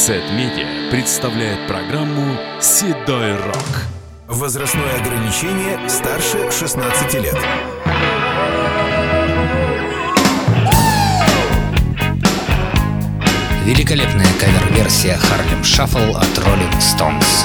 Z-Media представляет программу «Седой рок». Возрастное ограничение старше 16 лет. Великолепная кавер-версия Harlem Shuffle от Rolling Stones.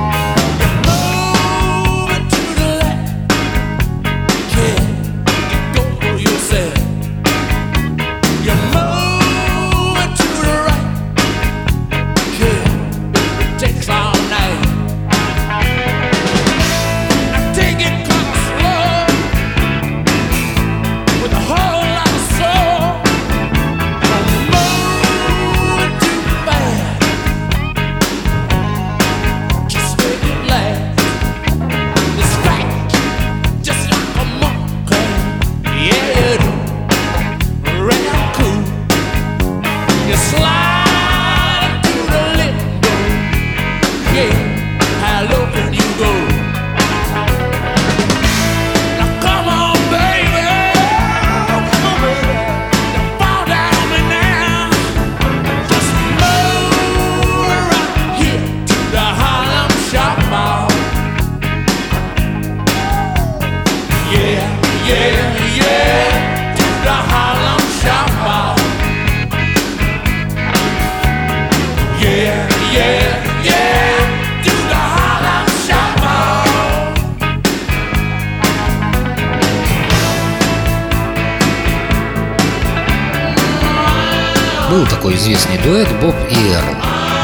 Был такой известный дуэт Боб и Эрл.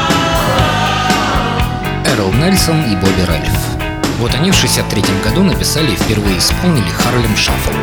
Эрл Нельсон и Бобби Ральф. Вот они в 1963 году написали и впервые исполнили Harlem Shuffle.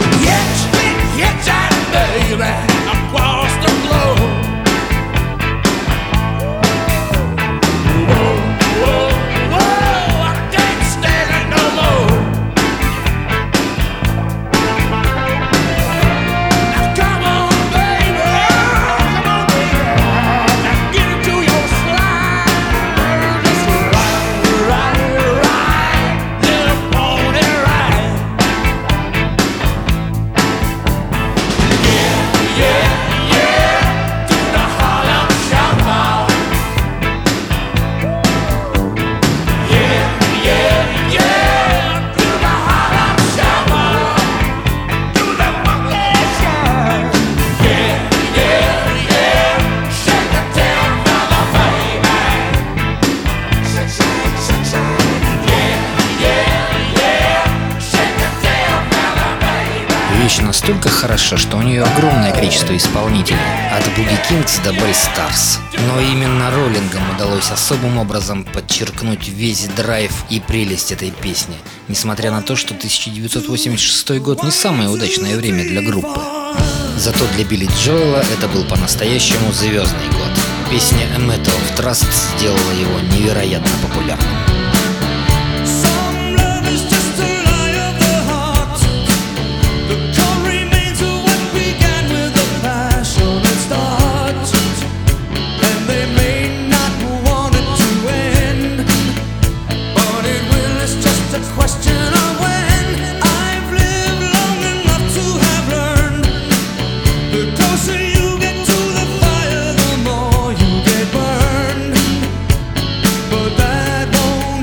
Вещь настолько хороша, что у нее огромное количество исполнителей, от Boogie Kings до Bay Stars. Но именно роллингам удалось особым образом подчеркнуть весь драйв и прелесть этой песни, несмотря на то, что 1986 год не самое удачное время для группы. Зато для Билли Джоэла это был по-настоящему звездный год. Песня A Matter of Trust сделала его невероятно популярным. But that won't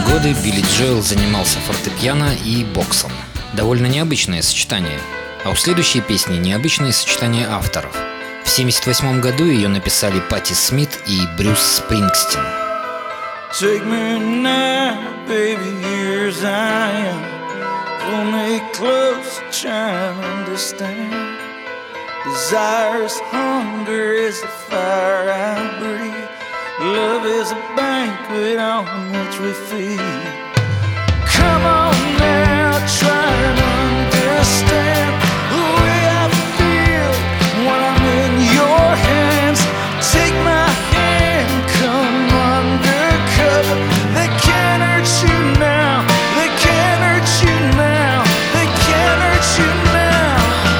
годы Билли Джоэл занимался фортепиано и боксом. Довольно необычное сочетание. А у следующей песни необычное сочетание авторов. В 1978 году ее написали Патти Смит и Брюс Спрингстин. Take me now, baby, here as I am. Pull me close, try and understand. Desire is hunger, is the fire I breathe. Love is a banquet on which we feed. Come on now, try and understand the way I feel when I'm in your hands. Take my hand, come undercover. They can't hurt you now, they can't hurt you now, they can't hurt you now.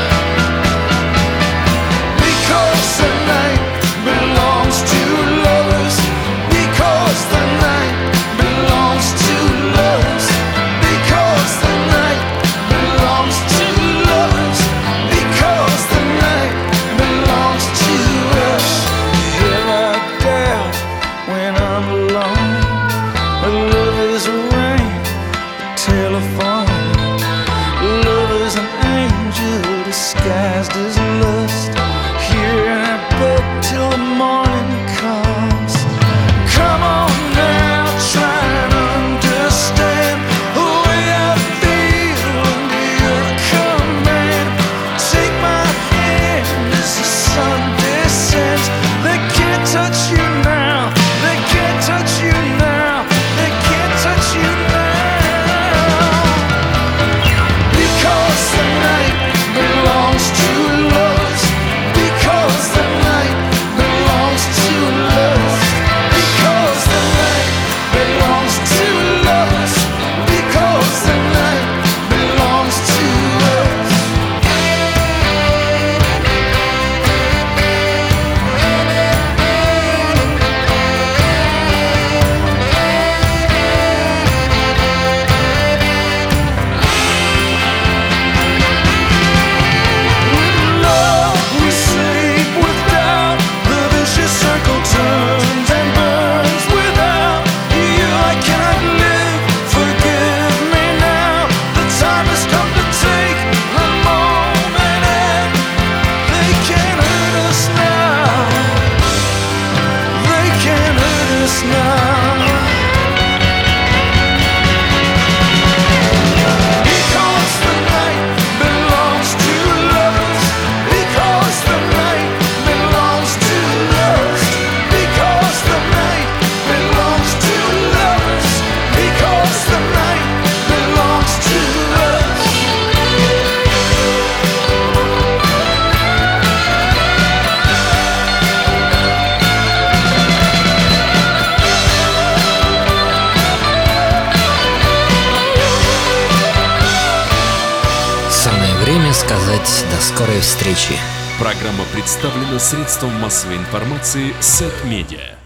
Because the night belongs to lovers. Because the night belongs to lovers. Because the night belongs to lovers. Because the night belongs to us. Have I doubt when I'm alone? But love is a ring, a telephone. Love is an angel disguised as lust. Here I beg till the morning comes. Come on now, try and understand the way I feel under your command. Take my hand as the sun descends. They can't touch you now, they can't touch you now, they can't touch you now. Because the night belongs to lovers. Because the night belongs to lovers. Because the night belongs to lovers. Because the night belongs to us. Love, we sleep without. The vicious circle turns and burns without you. I cannot live. Forgive me now. The time has come to take the moment, and they can't hurt us now. They can't hurt us now. Because the night belongs to lovers. Because the night belongs to lovers. Because the night belongs to lovers. Because the night belongs to us. Самое время сказать до скорой встречи. Программа представлена средством массовой информации Сет Медиа.